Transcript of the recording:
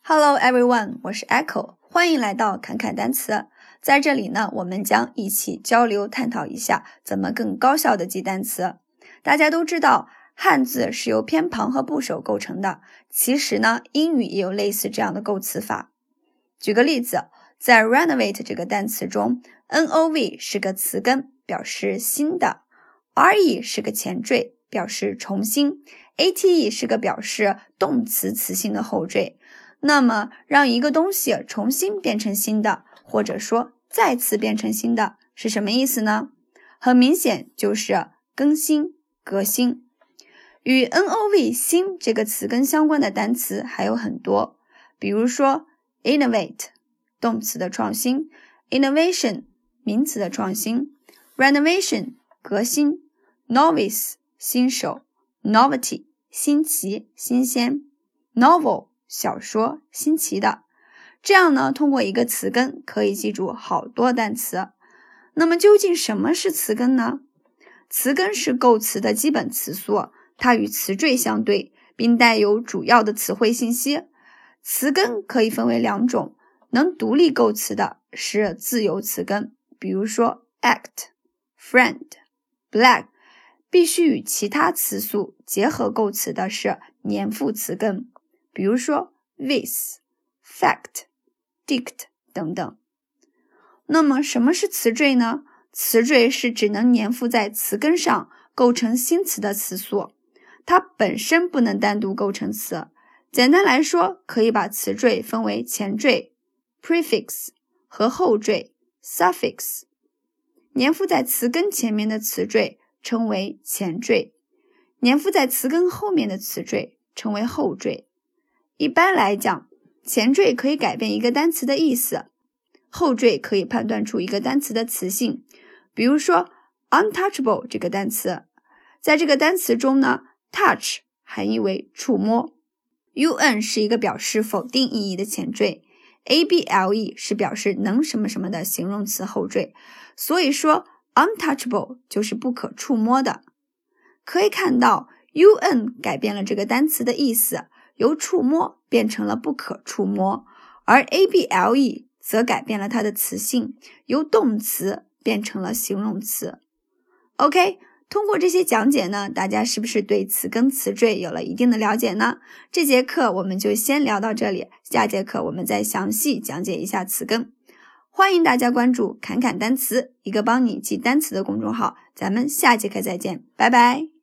Hello everyone， 我是 Echo， 欢迎来到侃侃单词。在这里呢，我们将一起交流探讨一下怎么更高效的记单词。大家都知道，汉字是由偏旁和部首构成的，其实呢，英语也有类似这样的构词法。举个例子，在 renovate 这个单词中 ，nov 是个词根，表示新的 ，re 是个前缀，表示重新 ，ate 是个表示动词词性的后缀。那么让一个东西重新变成新的，或者说再次变成新的是什么意思呢？很明显就是更新、革新。与 nov 新这个词根相关的单词还有很多，比如说 innovate 动词的创新， innovation 名词的创新， renovation 革新， novice 新手， novelty 新奇、新鲜， novel小说，新奇的。这样呢，通过一个词根可以记住好多单词。那么究竟什么是词根呢？词根是构词的基本词素，它与词缀相对，并带有主要的词汇信息。词根可以分为两种，能独立构词的是自由词根，比如说 act、friend、black， 必须与其他词素结合构词的是黏附词根，比如说 with、fact、dict 等等。那么什么是词缀呢？词缀是指能黏附在词根上构成新词的词素，它本身不能单独构成词。简单来说，可以把词缀分为前缀 prefix 和后缀 suffix。黏附在词根前面的词缀称为前缀，黏附在词根后面的词缀称为后缀。一般来讲，前缀可以改变一个单词的意思，后缀可以判断出一个单词的词性。比如说 untouchable 这个单词，在这个单词中呢， touch 含义为触摸， un 是一个表示否定意义的前缀， able 是表示能什么什么的形容词后缀，所以说 untouchable 就是不可触摸的。可以看到 un 改变了这个单词的意思，由触摸变成了不可触摸，而 able 则改变了它的词性，由动词变成了形容词。 OK， 通过这些讲解呢，大家是不是对词根词缀有了一定的了解呢？这节课我们就先聊到这里，下节课我们再详细讲解一下词根。欢迎大家关注侃侃单词，一个帮你记单词的公众号，咱们下节课再见，拜拜。